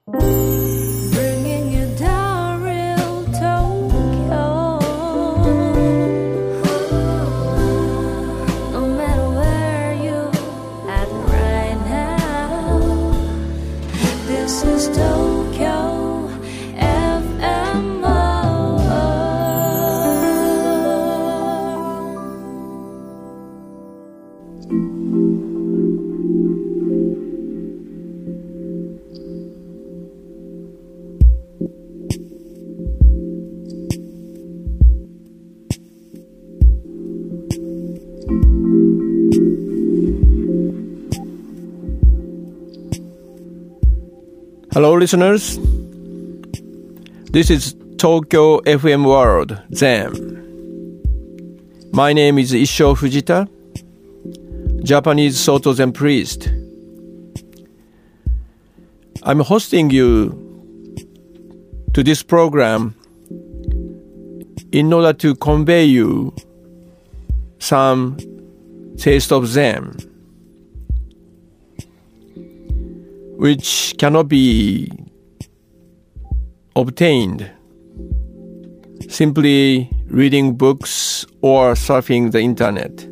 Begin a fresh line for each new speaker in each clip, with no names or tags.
Bringing you down real Tokyo. No matter where you at right now, this is Tokyo FMO.
Hello, listeners. This is Tokyo FM World Zen. My name is Issho Fujita, Japanese Soto Zen priest. I'm hosting you to this program in order to convey you some taste of Zen, which cannot be obtained simply reading books or surfing the internet.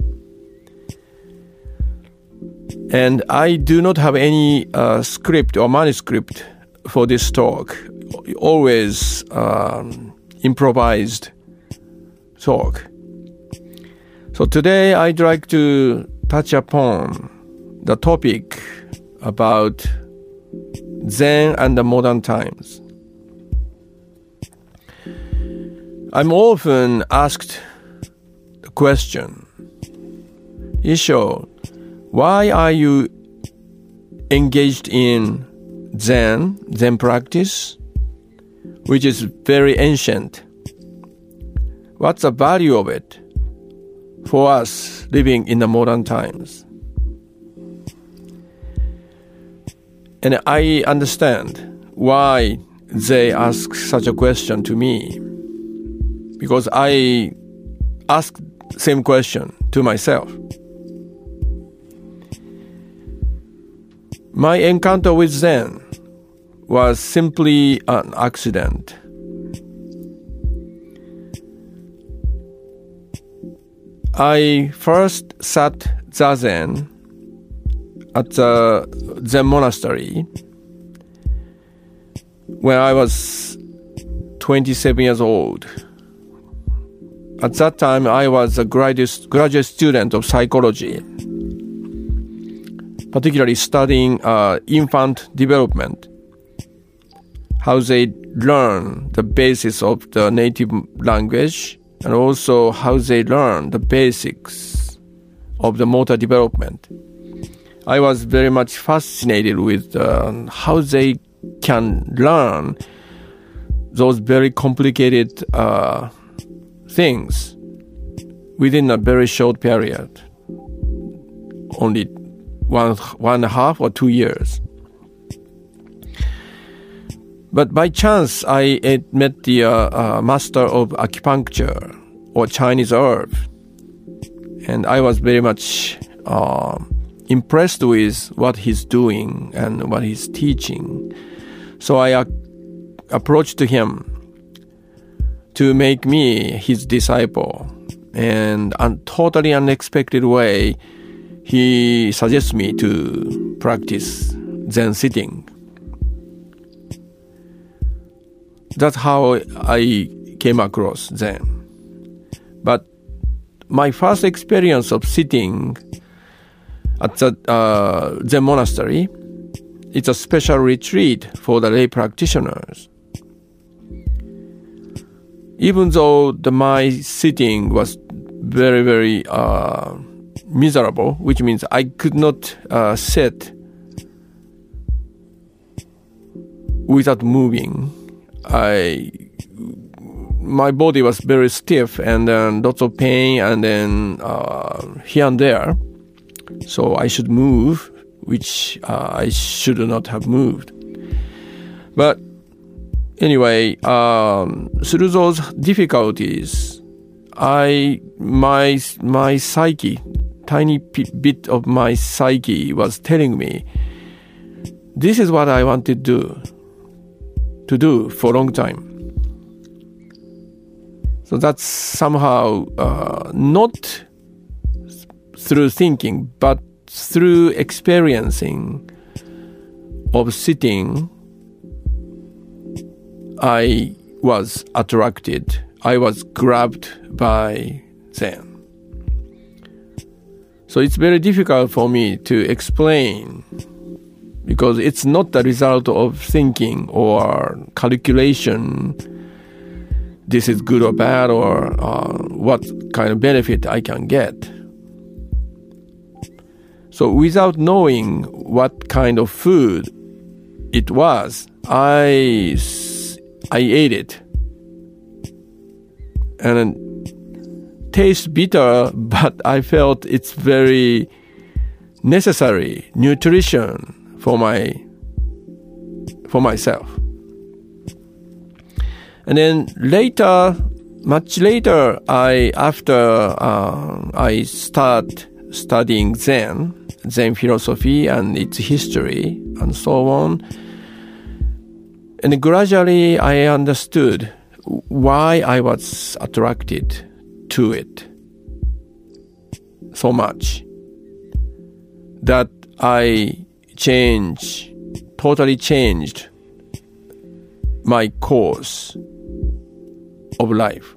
And I do not have any script or manuscript for this talk, always improvised talk. So today I'd like to touch upon the topic about Zen and the modern times. I'm often asked the question, Issho, why are you engaged in Zen practice, which is very ancient? What's the value of it for us living in the modern times? And I understand why they ask such a question to me, because I ask the same question to myself. My encounter with Zen was simply an accident. I first sat zazen at the Zen monastery when I was 27 years old. At that time, I was a graduate student of psychology, particularly studying infant development, how they learn the basis of the native language, and also how they learn the basics of the motor development. I was very much fascinated with how they can learn those very complicated things within a very short period, only one and a half or 2 years. But by chance, I met the master of acupuncture or Chinese herb, and I was very much impressed with what he's doing and what he's teaching. So I approached him to make me his disciple. And in a totally unexpected way, he suggests me to practice Zen sitting. That's how I came across Zen. But my first experience of sitting at the Zen monastery, it's a special retreat for the lay practitioners. Even though my sitting was very, very miserable, which means I could not sit without moving. My body was very stiff and then lots of pain and then here and there. So I should move, which I should not have moved. But anyway, through those difficulties, my psyche, tiny bit of my psyche was telling me, this is what I wanted to do for a long time. So that's somehow not through thinking, but through experiencing of sitting, I was attracted. I was grabbed by Zen. So it's very difficult for me to explain because it's not the result of thinking or calculation. This is good or bad, or what kind of benefit I can get. So without knowing what kind of food it was, I ate it. And it tastes bitter, but I felt it's very necessary nutrition for myself. And then later, much later, after I start studying Zen philosophy and its history and so on, and gradually I understood why I was attracted to it so much that I totally changed my course of life.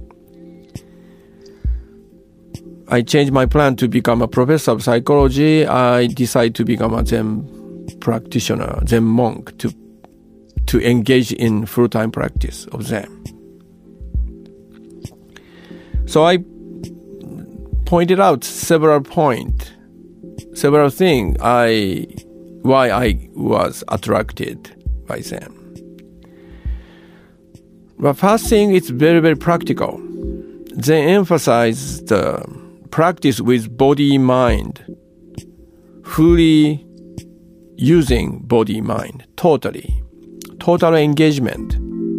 I changed my plan to become a professor of psychology. I decided to become a Zen practitioner, Zen monk, to engage in full-time practice of Zen. So I pointed out several things why I was attracted by Zen. But first thing, it's very, very practical. Zen emphasizes the practice with body-mind, fully using body-mind, total engagement.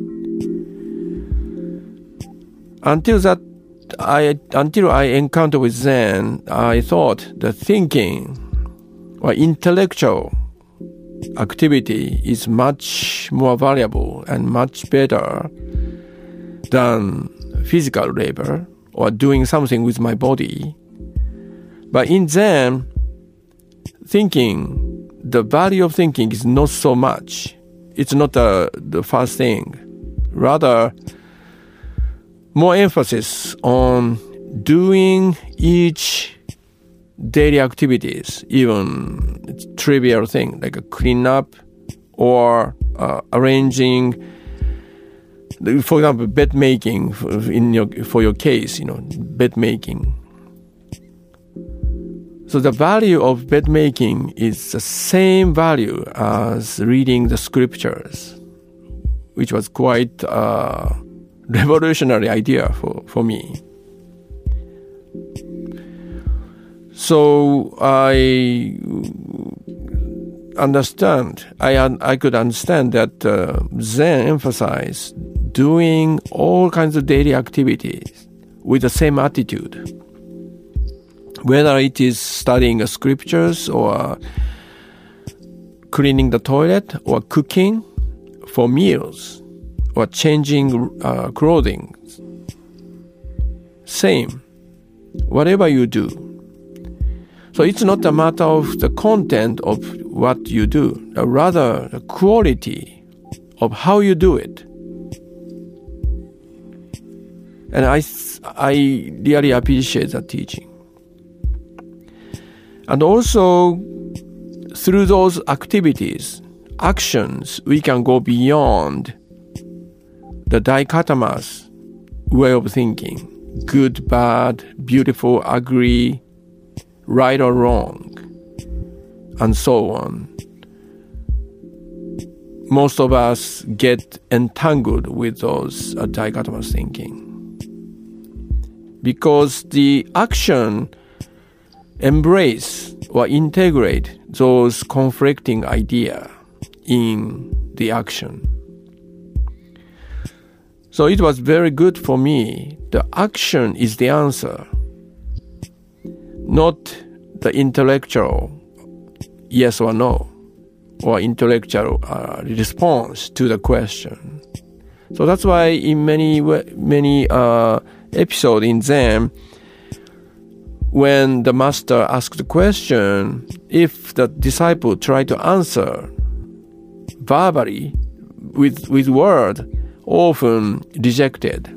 Until I encountered with Zen, I thought the thinking or intellectual activity is much more valuable and much better than physical labor or doing something with my body. But in Zen, the value of thinking is not so much. It's not the first thing. Rather, more emphasis on doing each daily activities, even trivial thing like a clean up or arranging, for example, bed making for your case, bed making. So the value of bed making is the same value as reading the scriptures, which was quite a revolutionary idea for me. So I could understand that Zen emphasized doing all kinds of daily activities with the same attitude. Whether it is studying the scriptures or cleaning the toilet or cooking for meals or changing clothing. Same. Whatever you do. So it's not a matter of the content of what you do, rather the quality of how you do it. And I really appreciate that teaching. And also, through those activities, actions, we can go beyond the dichotomous way of thinking. Good, bad, beautiful, ugly, right or wrong, and so on. Most of us get entangled with those dichotomous thinking. Because the action embrace or integrate those conflicting ideas in the action. So it was very good for me. The action is the answer, not the intellectual yes or no, or intellectual response to the question. So that's why in many episodes in Zen, when the master asks the question, if the disciple try to answer verbally with word, often rejected.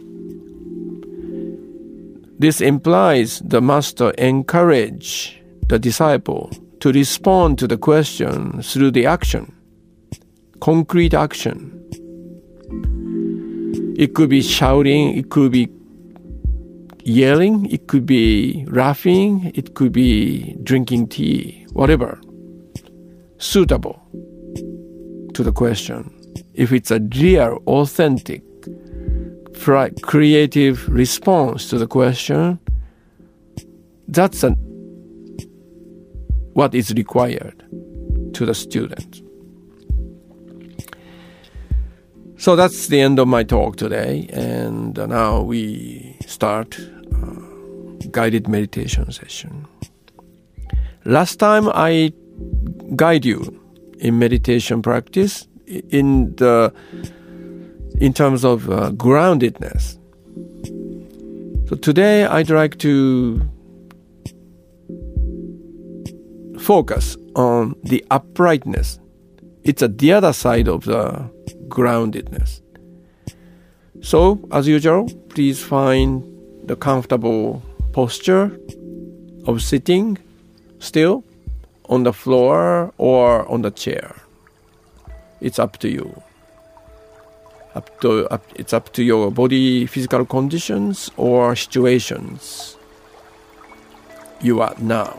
This implies the master encourage the disciple to respond to the question through the action, concrete action. It could be shouting, it could be yelling, it could be laughing, it could be drinking tea, whatever, suitable to the question. If it's a real, authentic, creative response to the question, that's what is required to the student. So that's the end of my talk today, and now we start guided meditation session. Last time I guide you in meditation practice in terms of groundedness. So today I'd like to focus on the uprightness. It's the other side of the groundedness. So, as usual, please find the comfortable posture of sitting still on the floor or on the chair. It's up to you. It's up to your body physical conditions or situations you are now.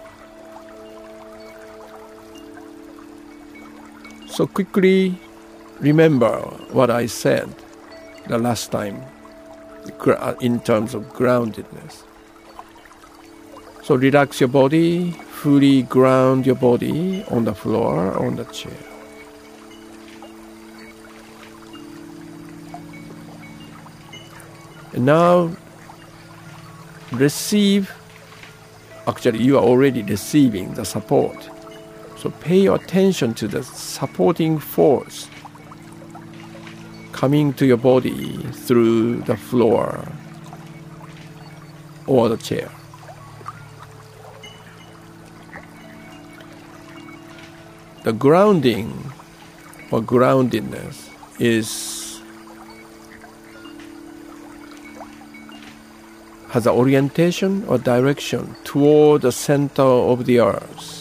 So quickly remember what I said the last time in terms of groundedness. So relax your body, fully ground your body on the floor or on the chair. And now actually you are already receiving the support. So pay attention to the supporting force coming to your body through the floor or the chair. The grounding or groundedness has an orientation or direction toward the center of the earth,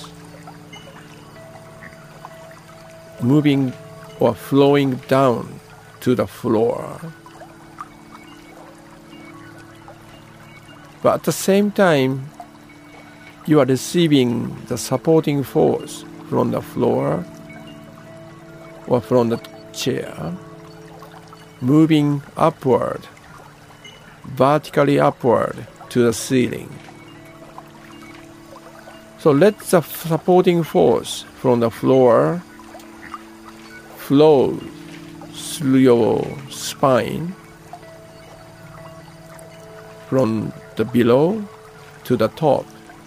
moving or flowing down to the floor. But at the same time, you are receiving the supporting force from the floor or from the chair, moving upward, vertically upward to the ceiling. So let the supporting force from the floor flow through your spine from the below to the top,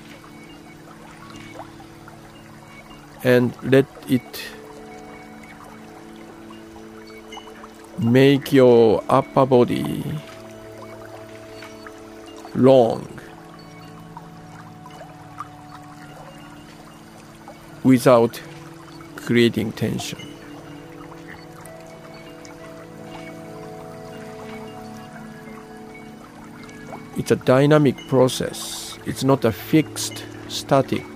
and let it make your upper body long without creating tension. It's a dynamic process. It's not a fixed, static.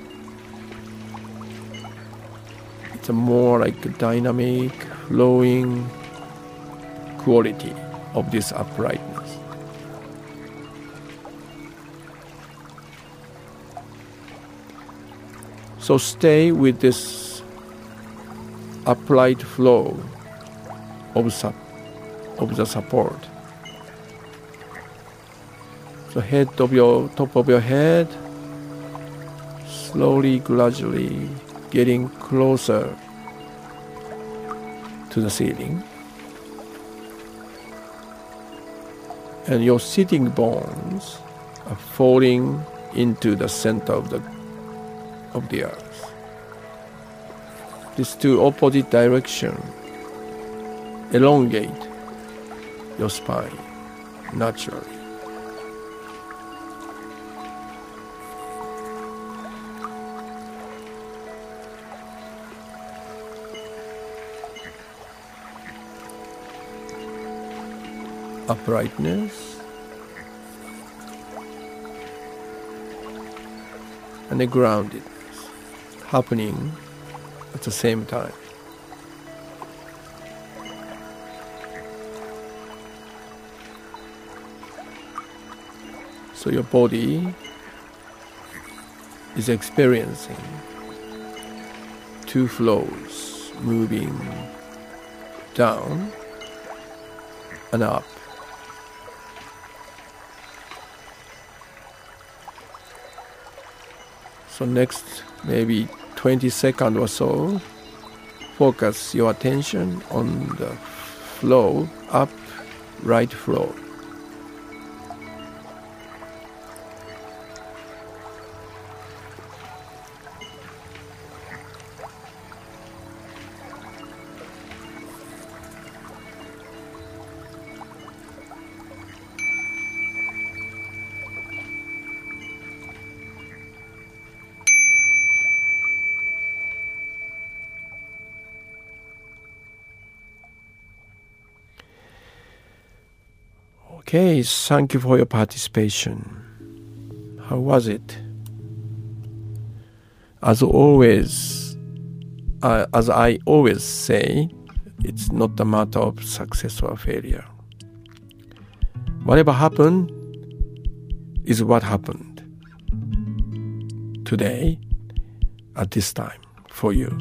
It's a more like a dynamic, flowing quality of this uprightness. So stay with this upright flow of the support. So top of your head, slowly, gradually getting closer to the ceiling. And your sitting bones are falling into the center of the earth. these two opposite direction. Elongate your spine naturally. Uprightness and the groundedness happening at the same time. So your body is experiencing two flows moving down and up. So next maybe 20 seconds or so, focus your attention on the flow, up, right flow. Okay, thank you for your participation. How was it? As always, as I always say, it's not a matter of success or failure. Whatever happened is what happened today at this time for you.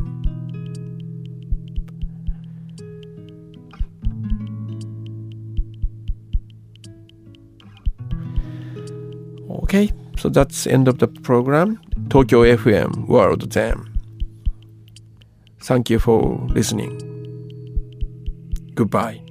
Okay, so that's the end of the program. Tokyo FM World Zen. Thank you for listening. Goodbye.